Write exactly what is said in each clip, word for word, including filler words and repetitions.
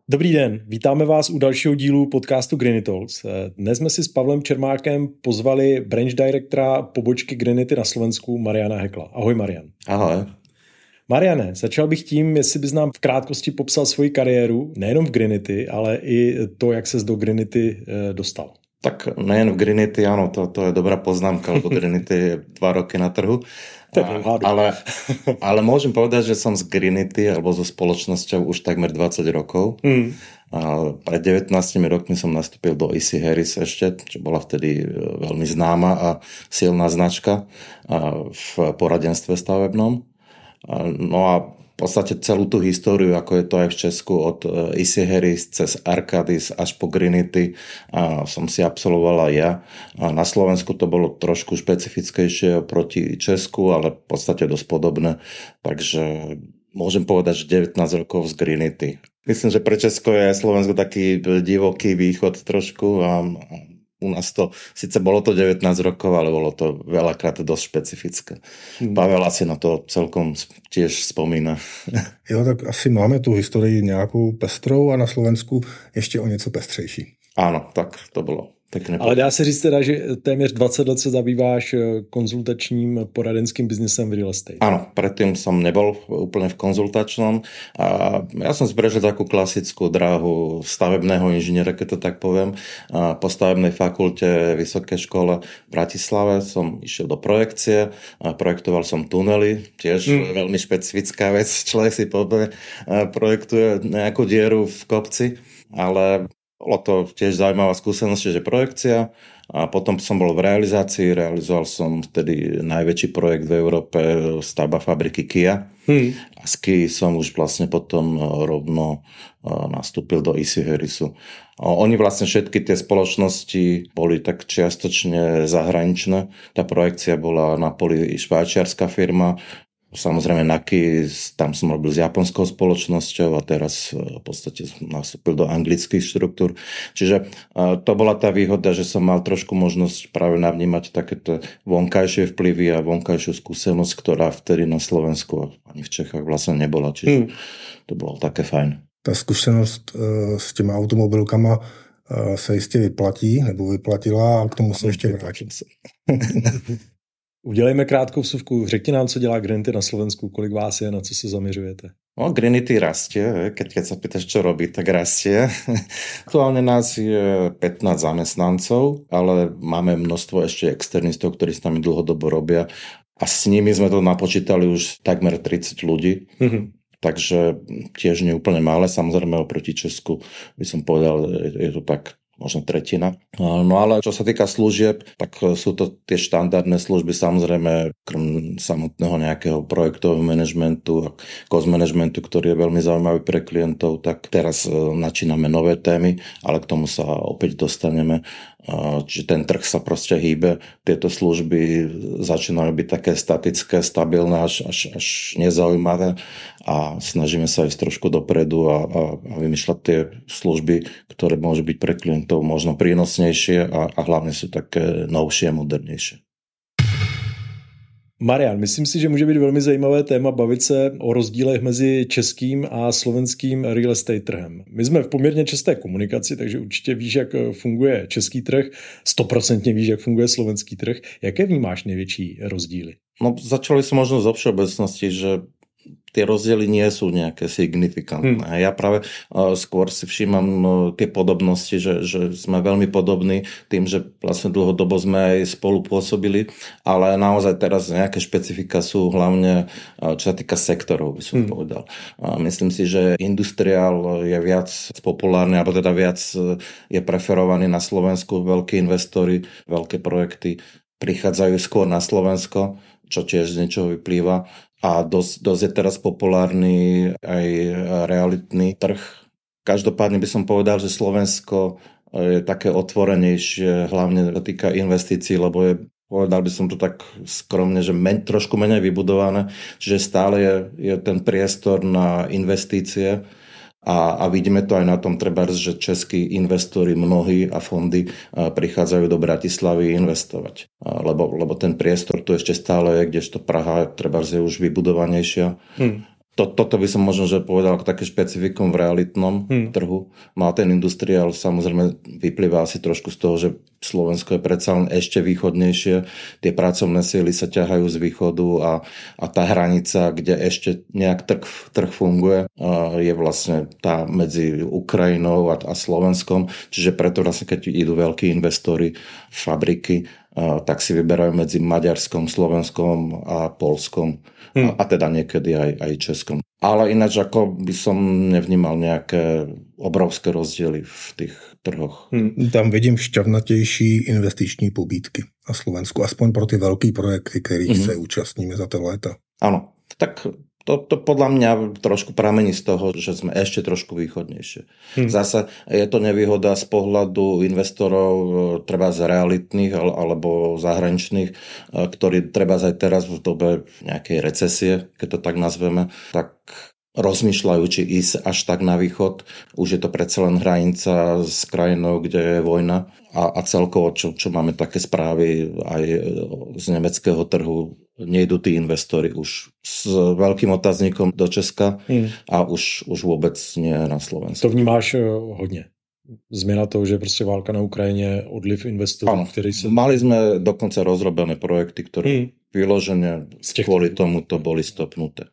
Dobrý den, vítáme vás u dalšího dílu podcastu Greeny Talks. Dnes jsme si s Pavlem Čermákem pozvali branch directora pobočky Greenity na Slovensku Mariana Hekla. Ahoj Marian. Ahoj. Mariane, začal bych tím, jestli bys nám v krátkosti popsal svoji kariéru, nejenom v Greenity, ale i to, jak ses do Greenity dostal. Tak nejen v Greenity, áno, to, to je dobrá poznámka, lebo Greenity je dva roky na trhu. A, ale, ale môžem povedať, že som z Greenity alebo so spoločnosťou už takmer dvadsať rokov. Mm. A pred devätnástimi rokmi som nastúpil do í cé Harris ešte, čo bola vtedy veľmi známa a silná značka v poradenstve stavebnom. No a v podstate celú tú históriu, ako je to aj v Česku, od í cé Harris cez Arcadis až po Greenity a som si absolvovala ja. A na Slovensku to bolo trošku špecifickejšie proti Česku, ale v podstate dosť podobné. Takže môžem povedať, že devätnásť rokov z Greenity. Myslím, že pre Česko je Slovensko taký divoký východ trošku a u nás to, síce bolo to devätnásť rokov, ale bolo to veľakrát dosť špecifické. Hmm. Pavel asi na to celkom tiež spomína. Jo, tak asi máme tu historii nějakou pestrou a na Slovensku ještě o něco pestřejší. Áno, tak to bylo. Pekne. Ale dá se říct teda, že téměř dvadsať let se zabýváš konzultačním poradenským biznesem v real estate. Áno, predtým som nebol úplne v konzultačnom a ja som zbrežil takú klasickú dráhu stavebného inžiniera, keď to tak poviem. A po stavebnej fakulte Vysokej škole v Bratislave som išiel do projekcie, a projektoval som tunely, tiež mm. veľmi špecifická vec, človek si povie, projektuje nejakú dieru v kopci, ale bolo to tiež zaujímavá skúsenosť, že projekcia a potom som bol v realizácii, realizoval som vtedy najväčší projekt v Európe, stavba fabriky Kia hmm. a z Kia som už vlastne potom rovno nastúpil do í cé Harrisu. Oni vlastne všetky tie spoločnosti boli tak čiastočne zahraničné, tá projekcia bola na poli švajčiarska firma. Samozrejme Naki, tam som robil s japonskou spoločnosťou a teraz v podstate nastúpil do anglických štruktúr. Čiže to bola tá výhoda, že som mal trošku možnosť práve navnímať takéto vonkajšie vplyvy a vonkajšiu skúsenosť, ktorá vtedy na Slovensku ani v Čechách vlastne nebola. Čiže hmm. to bolo také fajn. Ta zkušenost s těma automobilkama se jistě vyplatí, nebo vyplatila a k tomu se ještě vrátím. Udělejme krátkou vsuvku. Řekni nám, co dělá Greenity na Slovensku, kolik vás je, na co se zaměřujete? No, Greenity rastie, keď, keď sa pýtaš, čo robí, tak rastie. Aktuálne nás je pätnásť zamestnancov, ale máme množstvo ešte externistov, ktorí s nami dlhodobo robia a s nimi sme to napočítali už takmer tridsať ľudí. Mm-hmm. Takže tiež nie úplne malé, samozrejme oproti Česku by som povedal, je to tak možno tretina. No ale čo sa týka služieb, tak sú to tie štandardné služby, samozrejme krem samotného nejakého projektového manažmentu a cost managementu, ktorý je veľmi zaujímavý pre klientov, tak teraz načíname nové témy, ale k tomu sa opäť dostaneme. Čiže ten trh sa proste hýbe, tieto služby začínajú byť také statické, stabilné, až, až, až nezaujímavé a snažíme sa ísť trošku dopredu a, a, a vymýšľať tie služby, ktoré môžu byť pre klientov možno prínosnejšie a, a hlavne sú také novšie a modernejšie. Marian, myslím si, že může být velmi zajímavé téma bavit se o rozdílech mezi českým a slovenským real estate trhem. My jsme v poměrně časté komunikaci, takže určitě víš, jak funguje český trh, stoprocentně víš, jak funguje slovenský trh. Jaké vnímáš největší rozdíly? No, začali sme možno zo všeobecnosti, že tie rozdiely nie sú nejaké signifikantné. Hmm. Ja práve uh, skôr si všímam uh, tie podobnosti, že, že sme veľmi podobní tým, že vlastne dlhodobo sme aj spolu pôsobili, ale naozaj teraz nejaké špecifika sú hlavne, uh, čo sa týka sektorov, by som hmm. povedal. Uh, myslím si, že industriál je viac populárny, alebo teda viac uh, je preferovaný na Slovensku. Veľkí investori, veľké projekty prichádzajú skôr na Slovensko, čo tiež z niečoho vyplýva. A dosť, dosť je teraz populárny aj realitný trh. Každopádne by som povedal, že Slovensko je také otvorenejšie, hlavne týka investícií, lebo je, povedal by som to tak skromne, že men, trošku menej vybudované, čiže stále je, je ten priestor na investície. A, a vidíme to aj na tom trebárs, že českí investori mnohí a fondy prichádzajú do Bratislavy investovať. Lebo, lebo ten priestor tu ešte stále je, kdežto Praha trebárs je už vybudovanejšia. Hmm. To, toto by som možno že povedal ako také špecifikum v realitnom hmm. trhu. No a ten industriál samozrejme vyplýva asi trošku z toho, že Slovensko je predsa len ešte východnejšie. Tie pracovné síly sa ťahajú z východu a, a tá hranica, kde ešte nejak trh, trh funguje, je vlastne tá medzi Ukrajinou a, a Slovenskom. Čiže preto vlastne, keď idú veľkí investori, fabriky, tak si vyberajú medzi Maďarskom, Slovenskom a Poľskom hmm. a, a teda niekedy aj, aj Českom. Ale ináč ako by som nevnímal nejaké obrovské rozdiely v tých trhoch. Hmm. Tam vidím šťavnatější investiční pobídky na Slovensku, aspoň pro ty velký projekty, kterých hmm. se účastníme za to léta. Áno, tak To, to podľa mňa trošku pramení z toho, že sme ešte trošku východnejšie. Hmm. Zase je to nevýhoda z pohľadu investorov treba z realitných alebo zahraničných, ktorí treba aj teraz v dobe nejakej recesie, keď to tak nazveme, tak rozmýšľajú, či ísť až tak na východ. Už je to predsa len hranica s krajinou, kde je vojna. A, a celkovo, čo, čo máme také správy aj z nemeckého trhu, nejdú tí investori už s veľkým otáznikom do Česka hmm. a už, už vôbec nie na Slovensku. To vnímáš hodně. Změna toho, že prostě válka na Ukrajině, odliv investorů, ano, který se... Mali sme dokonca rozrobené projekty, ktoré hmm. vyloženě kvôli tomu to boli stopnuté.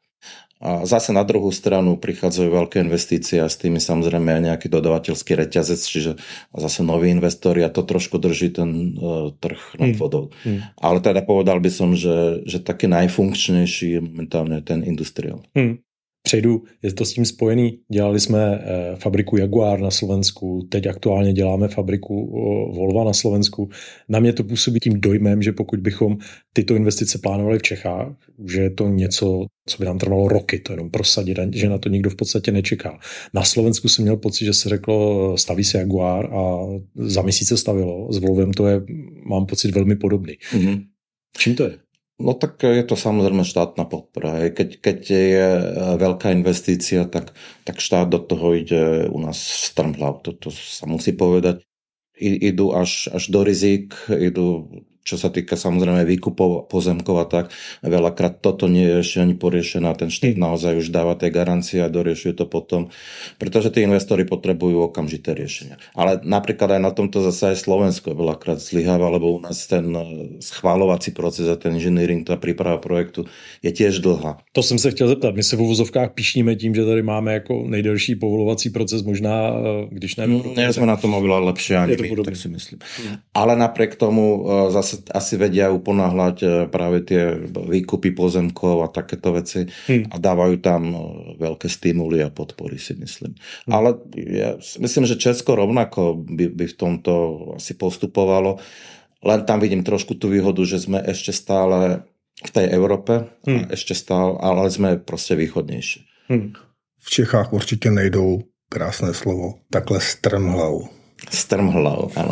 A zase na druhú stranu prichádzajú veľké investície a s tými samozrejme aj nejaký dodavateľský reťazec, čiže zase noví investori a to trošku drží ten uh, trh nad vodou. Hmm. Ale teda povedal by som, že, že taký najfunkčnejší je momentálne ten industriál. Hmm. Přejdu, je to s tím spojený. Dělali jsme eh, fabriku Jaguar na Slovensku, teď aktuálně děláme fabriku eh, Volva na Slovensku. Na mě to působí tím dojmem, že pokud bychom tyto investice plánovali v Čechách, že je to něco, co by nám trvalo roky, to jenom prosadit, že na to nikdo v podstatě nečeká. Na Slovensku jsem měl pocit, že se řeklo, staví se Jaguar a za měsíc se stavilo. S Volvem to je, mám pocit, velmi podobný. Mm-hmm. Čím to je? No tak je to samozrejme štátna podpora. Keď, keď je veľká investícia, tak, tak štát do toho ide u nás strmhlav. To, to sa musí povedať. I, idú až, až do rizik, idú, čo sa týka samozrejme výkupov pozemkov a tak. Veľakrát toto nie je ešte ani poriešené. Ten štát naozaj už dáva tie garancie a doriešuje to potom, pretože tí investori potrebujú okamžité riešenia. Ale napríklad aj na tomto zase aj Slovensko veľakrát zlyháva, lebo u nás ten schváľovací proces a ten engineering, tá príprava projektu je tiež dlhá. To jsem se chtěl zeptat. My se v uvozovkách píšníme tím, že tady máme jako nejdelší povolovací proces, možná, když ne... Mm, nie sme na tom oveľa lepšie ani my, tak si myslím. Mm. Ale napriek tomu zase asi vedia uponáhľať práve tie výkupy pozemkov a takéto veci hmm. a dávajú tam veľké stimuly a podpory, si myslím. Hmm. Ale ja myslím, že Česko rovnako by, by v tomto asi postupovalo. Len tam vidím trošku tú výhodu, že sme ešte stále v tej Európe, hmm. a ešte stále, ale sme proste východnejšie. Hmm. V Čechách určite nejdou, krásné slovo, takhle strmhlav. Strmhlav, áno.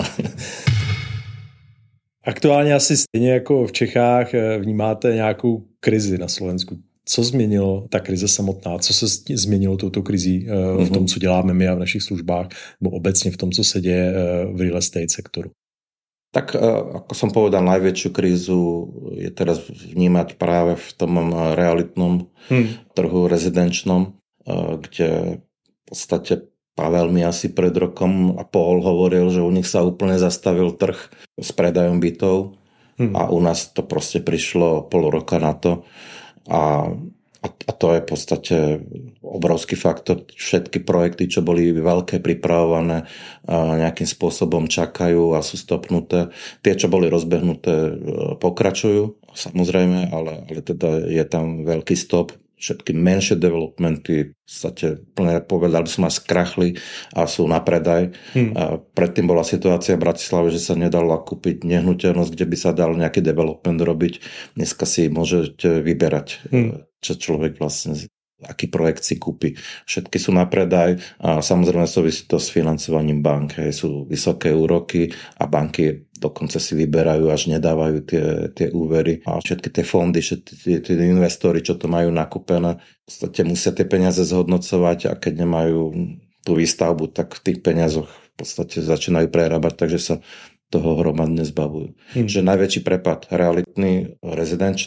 Aktuálně asi stejně jako v Čechách vnímáte nějakou krizi na Slovensku. Co změnilo ta krize samotná? Co se změnilo touto krizí v tom, co děláme my a v našich službách, nebo obecně v tom, co se děje v real estate sektoru? Tak ako som povedal, najväčšiu krízu je teraz vnímať práve v tom realitnom hmm. trhu rezidenčnom, kde v podstate Pavel mi asi pred rokom a pol hovoril, že u nich sa úplne zastavil trh s predajom bytov hmm. a u nás to proste prišlo pol roka na to a, a, a to je v podstate obrovský faktor. Všetky projekty, čo boli veľké, pripravované, nejakým spôsobom čakajú a sú stopnuté. Tie, čo boli rozbehnuté, pokračujú samozrejme, ale, ale teda je tam veľký stop. Všetky menšie developmenty v podstate plne povedal by som až skrachli a sú na predaj. Hmm. A predtým bola situácia v Bratislave, že sa nedala kúpiť nehnuteľnosť, kde by sa dal nejaký development robiť. Dneska si môžete vyberať, hmm. čo človek vlastne, aký projekt si kúpi. Všetky sú na predaj a samozrejme súvisí to s financovaním bank. Hej. Sú vysoké úroky a banky dokonca si vyberajú, až nedávajú tie, tie úvery. A všetky tie fondy, všetky tie investori, čo to majú nakúpené, v podstate musia tie peniaze zhodnocovať a keď nemajú tú výstavbu, tak v tých peniazoch v podstate začínajú prerábať, takže sa toho hromadne zbavujú. Hmm. Že najväčší prepad realitný, rezidenčný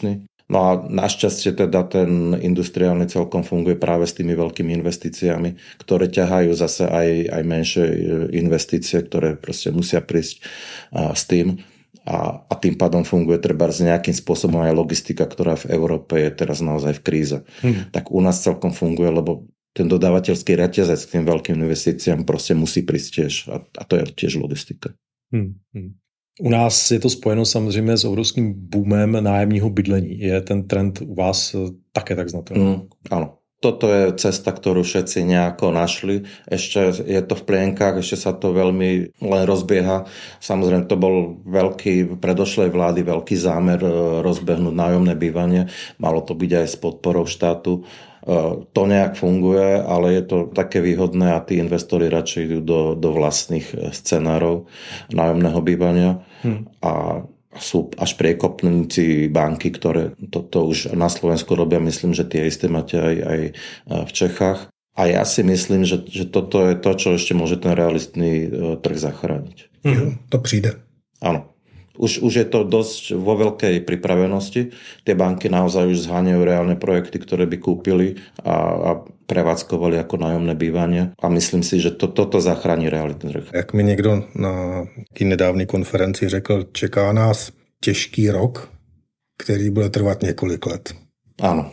No a našťastie teda ten industriálny celkom funguje práve s tými veľkými investíciami, ktoré ťahajú zase aj, aj menšie investície, ktoré proste musia prísť s tým. A, a tým pádom funguje treba s nejakým spôsobom aj logistika, ktorá v Európe je teraz naozaj v kríze. Hmm. Tak u nás celkom funguje, lebo ten dodávateľský reťazec k tým veľkým investíciám proste musí prísť tiež. A, a to je tiež logistika. Hmm. Hmm. U nás je to spojeno samozřejmě s obrovským boomem nájemního bydlení. Je ten trend u vás také tak znatelný? Mm, áno. Toto je cesta, ktorú všetci nejako našli. Ešte je to v plienkach, ešte sa to veľmi len rozbieha. Samozrejme, to bol veľký, predošlej vlády veľký zámer rozbehnúť nájomné bývanie. Malo to byť aj s podporou štátu. To nejak funguje, ale je to také výhodné a tí investori radšej idú do, do vlastných scenárov nájomného bývania. Hmm. A sú až priekopníci banky, ktoré toto už na Slovensku robia. Myslím, že tie isté máte aj, aj v Čechách. A ja si myslím, že, že toto je to, čo ešte môže ten realistný trh zachrániť. Hmm. To přijde. Áno. Už, už je to dosť vo veľkej pripravenosti. Tie banky naozaj už zháňajú reálne projekty, ktoré by kúpili a, a prevádzkovali ako nájomné bývanie. A myslím si, že to, toto zachrání realitný trh. Jak mi někdo na nedávné konferenci řekl, čeká nás těžký rok, který bude trvat několik let. Áno.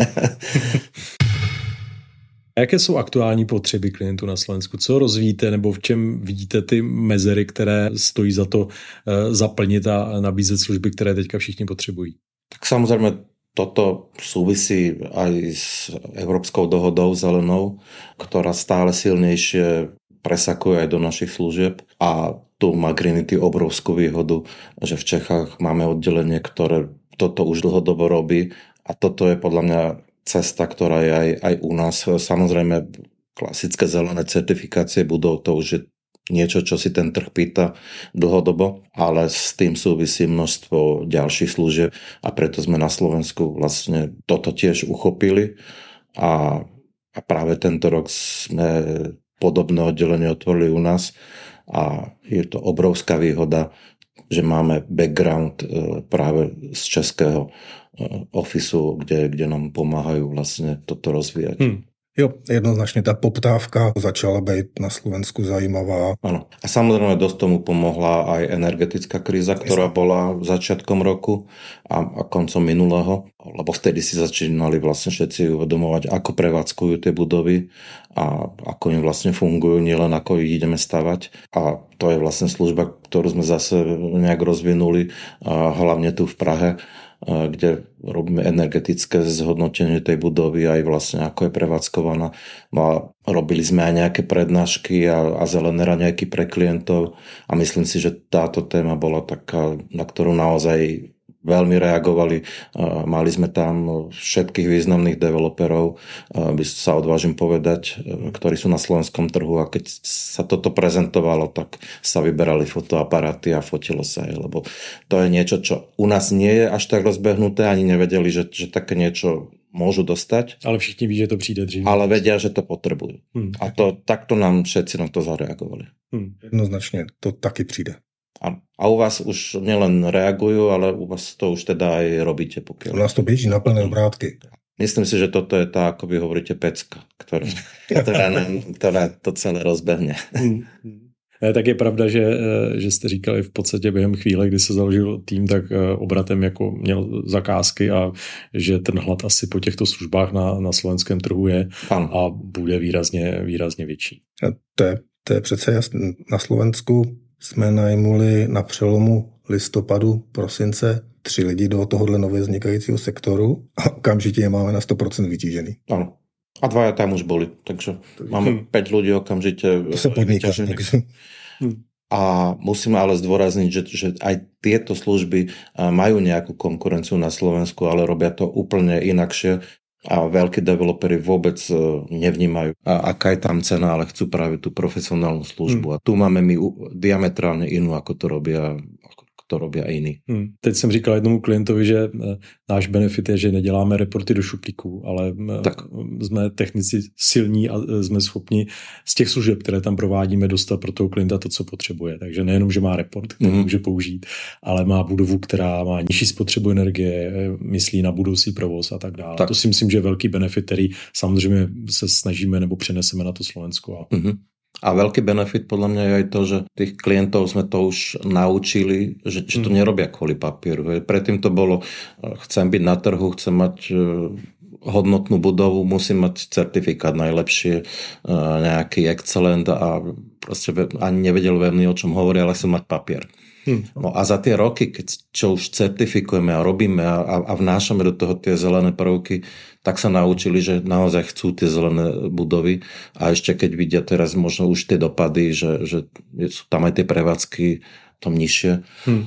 Jaké jsou aktuální potřeby klientů na Slovensku? Co rozvíjíte nebo v čem vidíte ty mezery, které stojí za to zaplnit a nabízet služby, které teďka všichni potřebují? Tak samozrejme toto súvisí aj s Európskou dohodou zelenou, ktorá stále silnejšie presakuje aj do našich služieb a tu má Greenity obrovskú výhodu, že v Čechách máme oddelenie, ktoré toto už dlhodobo robí a toto je podľa mňa cesta, ktorá je aj, aj u nás. Samozrejme, klasické zelené certifikácie budov, to už je niečo, čo si ten trh pýta dlhodobo, ale s tým súvisí množstvo ďalších služieb a preto sme na Slovensku vlastne toto tiež uchopili a, a práve tento rok sme podobné oddelenie otvorili u nás a je to obrovská výhoda, že máme background práve z českého ofisu, kde, kde nám pomáhajú vlastne toto rozvíjať. Hmm. Jo, jednoznačne tá poptávka začala byť na Slovensku zajímavá. Áno. A samozrejme dosť tomu pomohla aj energetická kríza, ktorá bola začiatkom roku a, a koncom minulého, lebo vtedy si začínali vlastne všetci uvedomovať, ako prevádzkujú tie budovy a ako im vlastne fungujú, nielen ako ich ideme stavať. A to je vlastne služba, ktorú sme zase nejak rozvinuli, a hlavne tu v Prahe, kde robíme energetické zhodnotenie tej budovy aj vlastne ako je prevádzkovaná. No a robili sme aj nejaké prednášky a, a zelené raňajky pre klientov a myslím si, že táto téma bola taká, na ktorú naozaj veľmi reagovali. Mali sme tam všetkých významných developerov, by sa odvážim povedať, ktorí sú na slovenskom trhu a keď sa toto prezentovalo, tak sa vyberali fotoaparáty a fotilo sa aj, lebo to je niečo, čo u nás nie je až tak rozbehnuté, ani nevedeli, že, že také niečo môžu dostať. Ale všichni ví, že to přijde dříve. Ale vedia, že to potrebujú. Hmm. A to, takto nám všetci na to zareagovali. Hmm. Jednoznačne, to taky přijde. A u vás už nielen reagujú, ale u vás to už teda aj robíte. Pokiaľ... U nás to běží na plné obrátky. Myslím si, že toto je tá, ako vy hovoríte, pecka, ktorá, ktorá, ktorá to celé rozbehne. Tak je pravda, že, že jste říkali v podstatě během chvíle, kdy se založil tým, tak obratem jako měl zakázky a že ten hlad asi po těchto službách na, na slovenském trhu je Pan. a bude výrazně, výrazně větší. A to, je, to je přece jasné. Na Slovensku jsme najmuli na přelomu listopadu, prosince tři lidi do tohohle nově vznikajícího sektoru a okamžitě je máme na sto procent vytížený. Ano. A dvaja tam už boli, takže máme hmm. päť ľudí okamžite to sa podniká, takže... A musíme ale zdôrazniť, že, že aj tieto služby majú nejakú konkurenciu na Slovensku, ale robia to úplne inakšie a veľkí developeri vôbec nevnímajú, a aká je tam cena, ale chcú práve tú profesionálnu službu. Hmm. A tu máme my diametrálne inú, ako to robia, ako to robí jiný. Hmm. Teď jsem říkal jednomu klientovi, že náš benefit je, že neděláme reporty do šuplíků, ale tak. jsme technici silní a jsme schopni z těch služeb, které tam provádíme, dostat pro toho klienta to, co potřebuje. Takže nejenom, že má report, který hmm. může použít, ale má budovu, která má nižší spotřebu energie, myslí na budoucí provoz a tak dále. Tak. To si myslím, že je velký benefit, který samozřejmě se snažíme nebo přeneseme na to Slovensko. Hmm. A veľký benefit podľa mňa je aj to, že tých klientov sme to už naučili, že, že to nerobia kvôli papieru. Predtým to bolo, chcem byť na trhu, chcem mať hodnotnú budovu, musím mať certifikát najlepšie, nejaký excellent a proste ani nevedel veľmi, o čom hovorí, ale chcem mať papier. Hmm. No a za tie roky, keď čo už certifikujeme a robíme a, a vnášame do toho tie zelené prvky, tak sa naučili, že naozaj chcú tie zelené budovy a ešte keď vidia teraz možno už tie dopady, že, že sú tam aj tie prevádzky tom nižšie, hmm.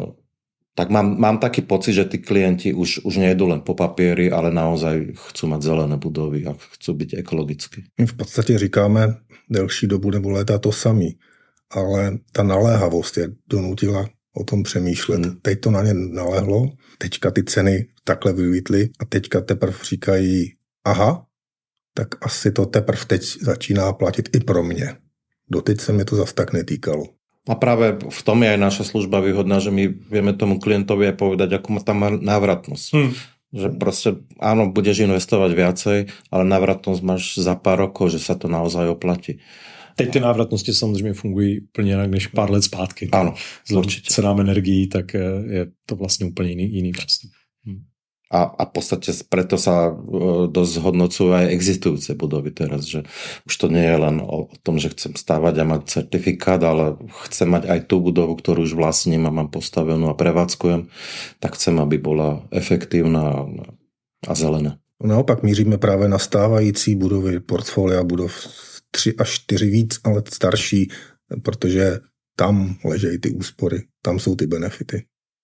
tak mám, mám taký pocit, že tí klienti už, už nejdú len po papieri, ale naozaj chcú mať zelené budovy a chcú byť ekologicky. My v podstatě říkáme delší dobu nebo léta to samý. Ale ta naléhavost je donutila o tom přemýšlet. Hmm. Teď to na ně nalehlo, teďka ty ceny takhle vylítly a teďka teprve říkají, aha, tak asi to teprve teď začíná platit i pro mě. Doteď se mi to zas tak netýkalo. A práve v tom je aj naša služba výhodná, že my vieme tomu klientovi aj povedať, akú má tam návratnosť. Hmm. Že proste, áno, budeš investovať viacej, ale návratnosť máš za pár rokov, že sa to naozaj oplatí. Teď ty návratnosti samozřejmě fungují úplně jinak než pár let zpátky. Ano, určitě. Cenám energií, tak je to vlastně úplně jiný, jiný přístup. Hmm. A, a v podstate preto sa dosť zhodnocujú aj existujúce budovy teraz, že už to nie je len o tom, že chcem stávať a mať certifikát, ale chcem mať aj tú budovu, ktorú už vlastním a mám postavenú a prevádzkujem, tak chcem, aby bola efektívna a zelená. Naopak míříme právě na stávající budovy, portfolia budov tři až čtyři víc, ale starší, protože tam ležejí ty úspory, tam jsou ty benefity.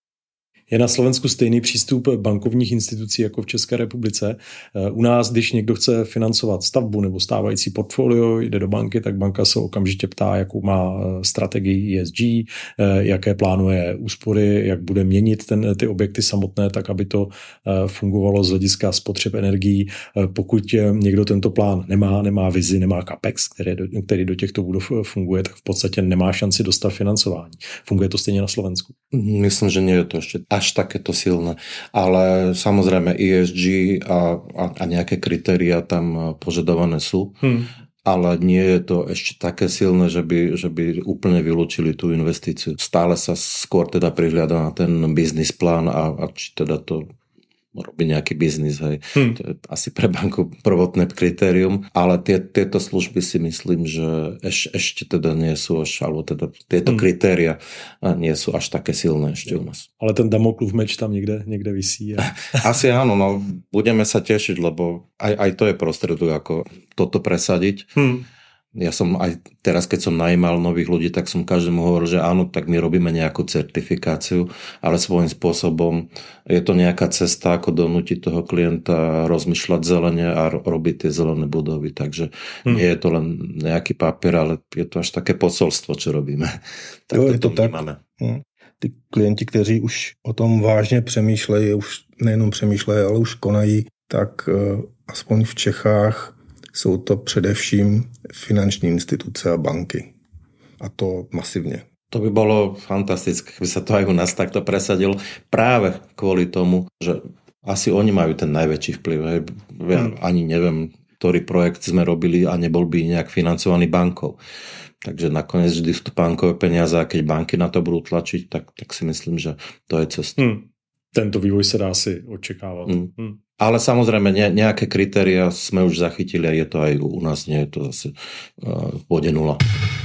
Je na Slovensku stejný přístup bankovních institucí jako v České republice. U nás, když někdo chce financovat stavbu nebo stávající portfolio, jde do banky, tak banka se okamžitě ptá, jakou má strategii E S G, jaké plánuje úspory, jak bude měnit ten, ty objekty samotné, tak aby to fungovalo z hlediska spotřeb energií. Pokud někdo tento plán nemá, nemá vizi, nemá capex, který do, který do těchto budov funguje, tak v podstatě nemá šanci dostat financování. Funguje to stejně na Slovensku? Myslím, že nie je to ešte až takéto silné, ale samozrejme E S G a, a, a nejaké kritériá tam požadované sú, hmm. ale nie je to ešte také silné, že by, že by úplne vylúčili tú investíciu. Stále sa skôr teda prihliada na ten business plán a, a či teda to robí nejaký biznis, hej. Hmm. To je asi pre banku prvotné kritérium, ale tie, tieto služby si myslím, že eš, ešte teda nie sú až, alebo teda tieto hmm. kritéria nie sú až také silné ešte u nás. Ale ten Damoklův meč tam niekde, niekde visí. A... Asi áno, no budeme sa tešiť, lebo aj, aj to je prostriedok, ako toto presadiť. Hmm. Ja som aj teraz, keď som najímal nových ľudí, tak som každému hovoril, že áno, tak my robíme nejakú certifikáciu, ale svojím spôsobom je to nejaká cesta, ako donútiť toho klienta rozmýšľať zelene a robiť tie zelené budovy. Takže hmm. nie je to len nejaký papier, ale je to až také posolstvo, čo robíme. Tak jo, to, to tak. Hmm. Ty klienti, kteří už o tom vážně přemýšlejí, už nejenom přemýšlejí, ale už konají, tak uh, aspoň v Čechách jsou to především finanční instituce a banky. A to masivně. To by bolo fantastické, keby sa to aj u nás takto presadilo. Práve kvôli tomu, že asi oni majú ten najväčší vplyv. Hej. Ja hmm. ani neviem, ktorý projekt sme robili a nebol by nejak financovaný bankou. Takže nakoniec vždy sú to bankové peniaze a keď banky na to budú tlačiť, tak, tak si myslím, že to je cesta. Hmm. Tento vývoj sa dá si očakávať. Hmm. Hmm. Ale samozrejme nejaké kritéria sme už zachytili a je to aj u nás, nie je to zase uh, v bode nula.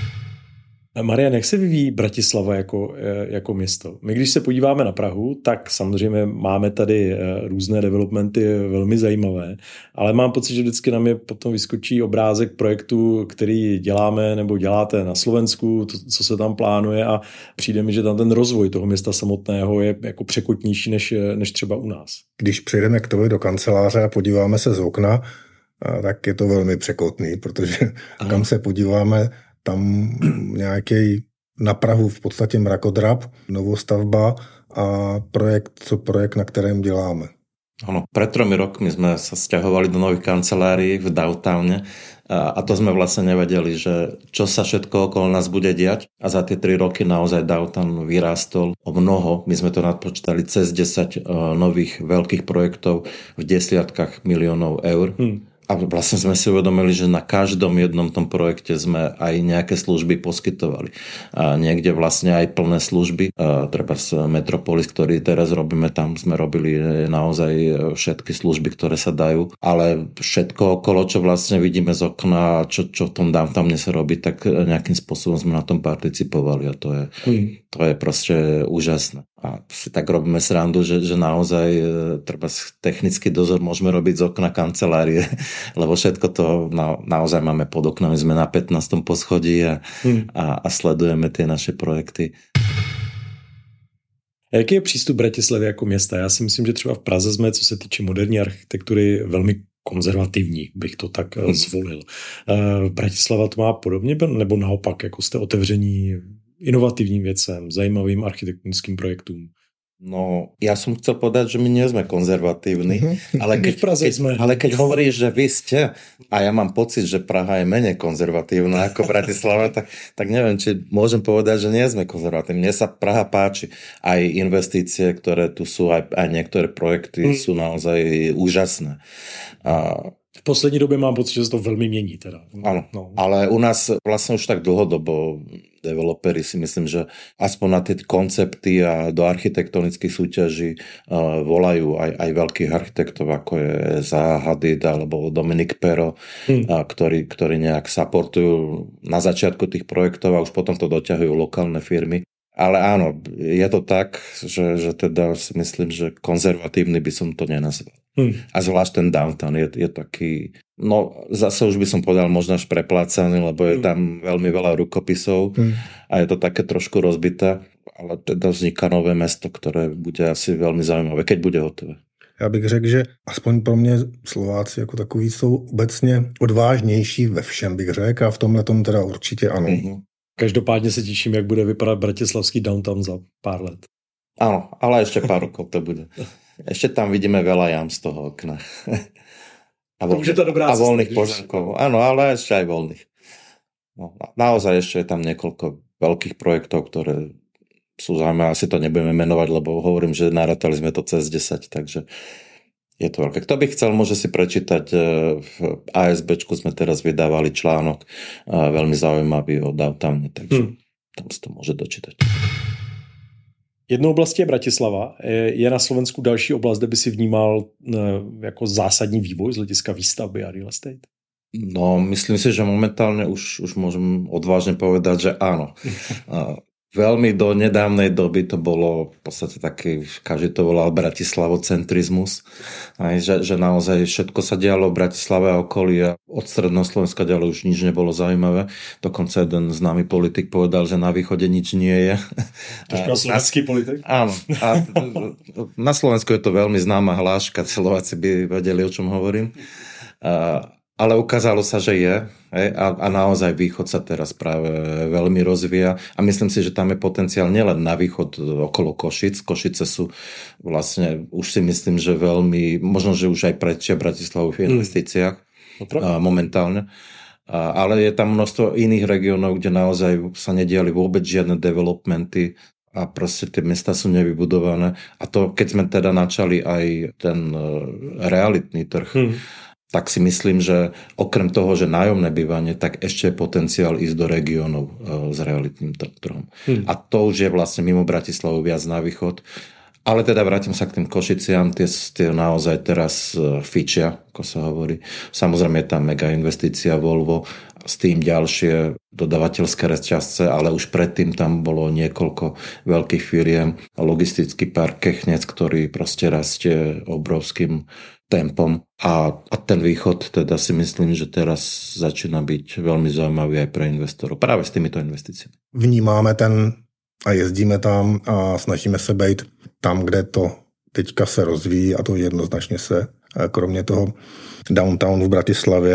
Marian, jak se vyvíjí Bratislava jako, jako město? My když se podíváme na Prahu, tak samozřejmě máme tady různé developmenty velmi zajímavé, ale mám pocit, že vždycky nám je potom vyskočí obrázek projektu, který děláme nebo děláte na Slovensku, to, co se tam plánuje a přijde mi, že tam ten rozvoj toho města samotného je jako překotnější než, než třeba u nás. Když přijdeme k tobě do kanceláře a podíváme se z okna, tak je to velmi překotný, protože Aha. kam se podíváme, tam nějaký na Prahu v podstatě mrakodrap, novostavba a projekt, co projekt, na kterém děláme. Áno, pred tromi rokmi sme sa sťahovali do nových kancelárií v downtowne a to sme vlastne nevedeli, že čo sa všetko okolo nás bude diať a za tie tri roky naozaj downtown vyrástol o mnoho. My sme to nadpočítali cez desať nových veľkých projektov v desiatkách miliónov eur. Hmm. A vlastne sme si uvedomili, že na každom jednom tom projekte sme aj nejaké služby poskytovali. A niekde vlastne aj plné služby. A treba z Metropolis, ktorý teraz robíme, tam sme robili naozaj všetky služby, ktoré sa dajú. Ale všetko okolo, čo vlastne vidíme z okna, čo, čo v tom downtowne sa robí, tak nejakým spôsobom sme na tom participovali. A to je, mm. to je proste úžasné. A si tak robíme srandu, že, že naozaj treba technický dozor môžeme robiť z okna kancelárie, lebo všetko to na, naozaj máme pod oknami, sme na pätnástom poschodí a, hmm. a, a sledujeme tie naše projekty. A jaký je přístup Bratislavy jako města? Já si myslím, že třeba v Praze jsme, co se týče moderní architektury, velmi konzervativní, bych to tak hmm. zvolil. Bratislava to má podobně, nebo naopak, jako jste otevření inovatívnym vecem, zajímavým architektonickým projektům? No, ja som chcel povedať, že my nie sme konzervatívni, ale keď, keď, sme. ale keď hovoríš, že vy ste, a ja mám pocit, že Praha je menej konzervatívna ako Bratislava, tak, tak neviem, či môžem povedať, že nie sme konzervatívni. Mne sa Praha páči. Aj investície, ktoré tu sú, aj, aj niektoré projekty hmm. sú naozaj úžasné. A v poslední době mám pocit, že se to velmi mění. Teda. Áno, no. Ale u nás vlastne už tak dlhodobo developeri si myslím, že aspoň na tie koncepty a do architektonických súťaží uh, volajú aj, aj veľkých architektov, ako je Zaha Hadid alebo Dominik Pero, hmm. uh, ktorí, ktorí nejak supportujú na začiatku tých projektov a už potom to doťahujú lokálne firmy. Ale áno, je to tak, že, že teda si myslím, že konzervatívny by som to nenazval. Hmm. A zvlášť ten downtown je, je taký, no zase už by som povedal možno až preplácaný, lebo je tam veľmi veľa rukopisov hmm. a je to také trošku rozbité, ale teda vzniká nové mesto, ktoré bude asi veľmi zaujímavé, keď bude hotové. Já bych řekl, že aspoň pro mě Slováci jako takový jsou obecně odvážnější ve všem, bych řekl, a v tomhle tom teda určitě ano. Hmm. Každopádně se těším, jak bude vypadat bratislavský downtown za pár let. Áno, ale ešte pár rokov to bude. Ešte tam vidíme veľa jam z toho okna. A, vo, to dobrá a voľných pozemkov. Áno, ale ešte aj voľných. No, naozaj ešte je tam niekoľko veľkých projektov, ktoré sú zaujímavé. Asi to nebudeme menovať, lebo hovorím, že narátali sme to cez desať, takže je to veľké. Kto by chcel, môže si prečítať. V ASBčku sme teraz vydávali článok veľmi zaujímavý o downtowne, takže hmm. tam si to môže dočítať. Jednou oblastí je Bratislava. Je na Slovensku další oblast, kde by si vnímal jako zásadní vývoj z hlediska výstavby a real estate? No, myslím si, že momentálne už, už môžem odvážne povedať, že áno. Veľmi do nedávnej doby to bolo v podstate taký, každý to volal bratislavocentrizmus, aj, že, že naozaj všetko sa dialo v Bratislave a okolí a od stredného Slovenska ďalej už nič nebolo zaujímavé. Dokonca jeden známy politik povedal, že na východe nič nie je. Troška slovenský politik? Áno. A na Slovensku je to veľmi známa hláška, Slováci by vedeli, o čom hovorím. A ale ukázalo sa, že je hej, a, a naozaj východ sa teraz práve veľmi rozvíja a myslím si, že tam je potenciál nielen na východ okolo Košic. Košice sú vlastne, už si myslím, že veľmi, možno, že už aj prečia Bratislavu v investíciách mm. a, momentálne. A, ale je tam množstvo iných regiónov, kde naozaj sa nediali vôbec žiadne developmenty a proste tie mesta sú nevybudované. A to, keď sme teda načali aj ten uh, realitný trh, mm. tak si myslím, že okrem toho, že nájomné bývanie, tak ešte je potenciál ísť do regiónov e, s realitným trhom. Hmm. A to už je vlastne mimo Bratislavu viac na východ. Ale teda vrátim sa k tým Košiciam, tie, tie naozaj teraz e, fičia, ako sa hovorí. Samozrejme je tam mega investícia Volvo, s tým ďalšie dodavateľské reťazce, ale už predtým tam bolo niekoľko veľkých firiem. Logistický park Kechnec, ktorý proste rastie obrovským tempom a, a ten východ teda si myslím, že teraz začína byť veľmi zaujímavý aj pre investorov práve s týmito investíciami. Vnímáme ten a jezdíme tam a snažíme se být tam, kde to teďka se rozvíjí a to jednoznačně se kromě toho downtownu v Bratislavě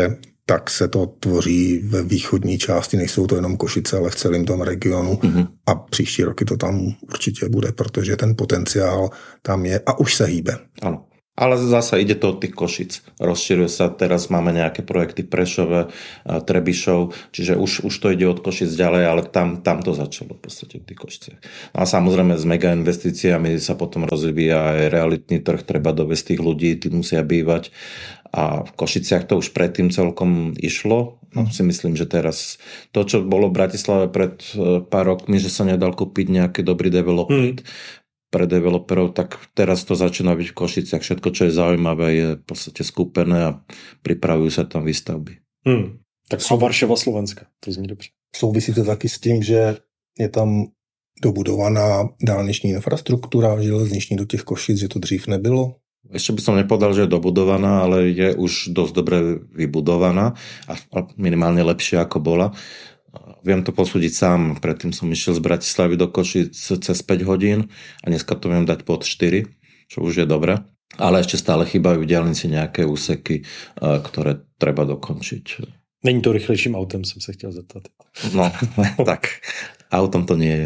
tak se to tvoří ve východní části, nejsou to jenom Košice, ale v celém tom regionu mm-hmm. a příští roky to tam určitě bude, protože ten potenciál tam je a už se hýbe. Ano. Ale zasa ide to od tých Košic. Rozširuje sa, teraz máme nejaké projekty v Prešove, Trebišov, čiže už, už to ide od Košic ďalej, ale tam, tam to začalo v podstate v tých Košiciach. A samozrejme s mega investíciami sa potom rozvíja aj realitný trh, treba dovesť tých ľudí, tí musia bývať. A v Košiciach to už predtým celkom išlo. No, si myslím, že teraz to, čo bolo v Bratislave pred pár rokmi, že sa nedal kúpiť nejaký dobrý development, mm. pre developerov, tak teraz to začína byť v Košiciach. Všetko, čo je zaujímavé, je v podstate skúpené a pripravujú sa tam výstavby. Hmm. Tak sú Varšava Slovenska, to zní dobře. Souvisí to taky s tím, že je tam dobudovaná dálniční infrastruktura železniční do těch Košic, že to dřív nebylo? Ešte by som nepovedal, že je dobudovaná, ale je už dosť dobre vybudovaná a minimálne lepšie ako bola. Viem to posúdiť sám, predtým som išiel z Bratislavy do Košic cez päť hodín a dneska to viem dať pod štyri, čo už je dobré. Ale ešte stále chýbajú v diaľnici nejaké úseky, ktoré treba dokončiť. Není to rychlejším autem, som sa chtěl zeptat. No, tak autom to nie je.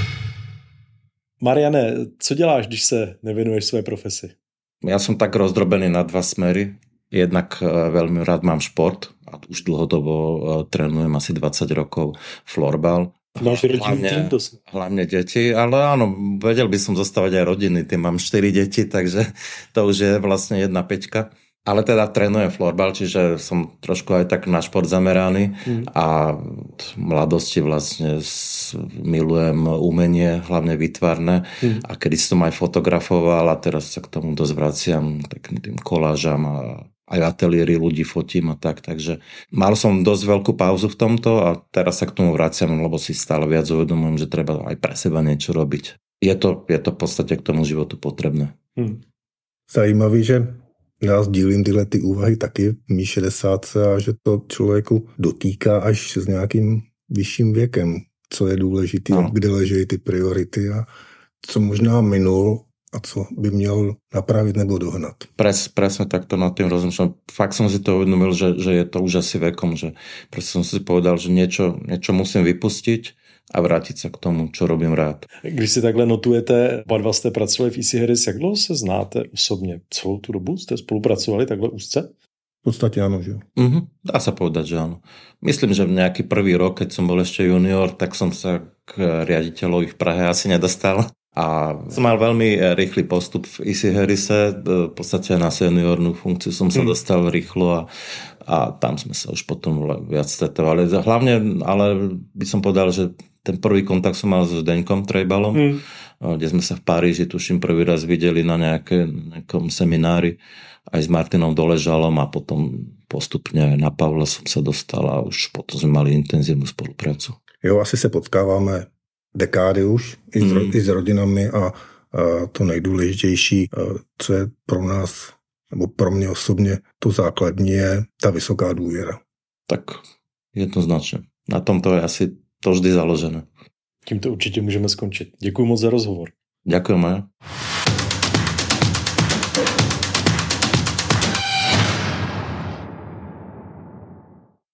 Mariane, co děláš, když se nevenuješ své profesi? Ja som tak rozdrobený na dva smery. Jednak veľmi rád mám šport a už dlhodobo trénujem asi dvadsať rokov florbal. Máš hlavne, hlavne deti, ale áno, vedel by som zostávať aj rodiny, tým mám štyri deti, takže to už je vlastne jedna peťka. Ale teda trénujem florbal, čiže som trošku aj tak na šport zameraný mm. a v mladosti vlastne milujem umenie, hlavne výtvarné mm. a kedy som aj fotografoval a teraz sa k tomu dosť vraciam takým tým kolážam a aj ateliéry ľudí fotím a tak, takže mal som dosť veľkú pauzu v tomto a teraz sa k tomu vraciam, lebo si stále viac uvedomujem, že treba aj pre seba niečo robiť. Je to, je to v podstate k tomu životu potrebné. Mm. Zajímavý, že já sdílím tyhle ty úvahy taky v mý šedesátce a že to člověku dotýká až s nějakým vyšším věkem, co je důležitý, no. Kde leží ty priority a co možná minul a co by měl napravit nebo dohnat. Pres, presne takto nad tým rozmýšľam. Fakt som si to uvedomil, že, že je to už asi vekom, že presne som si povedal, že niečo, niečo musím vypustiť a vrátit se k tomu, čo robím rád. Když si takhle notujete, oba dva jste pracovali v Easy Harris, jak dlouho se znáte osobně? Celou tu dobu jste spolupracovali takhle úzce? V podstatě ano, že jo. Mm-hmm, dá sa povedať, že áno. Myslím, že v nejaký prvý rok, keď som bol ešte junior, tak som sa k riaditeľovi v Prahe asi nedostal. A som mal veľmi rýchly postup v Easy Harrise, v podstate na seniornú funkciu som sa mm. dostal rýchlo a, a tam sme sa už potom viac stretovali. Hlavne, ale by som povedal, že ten prvý kontakt som mal s Zdeňkom Trejbalom, mm. kde sme sa v Paríži, tuším, prvý raz videli na nejaké, nejakom seminári aj s Martinom Doležalom a potom postupne na Pavla som sa dostal a už potom sme mali intenzívnu spoluprácu. Jo, asi se potkáváme dekády už i s, mm. i s rodinami a, a to nejdůležitější, co je pro nás, nebo pro mě osobně, to základní je ta vysoká důvěra. Tak jednoznačně. Na tom to je asi to vždy založené. Tím to určitě můžeme skončit. Děkuji moc za rozhovor. Ďakujem.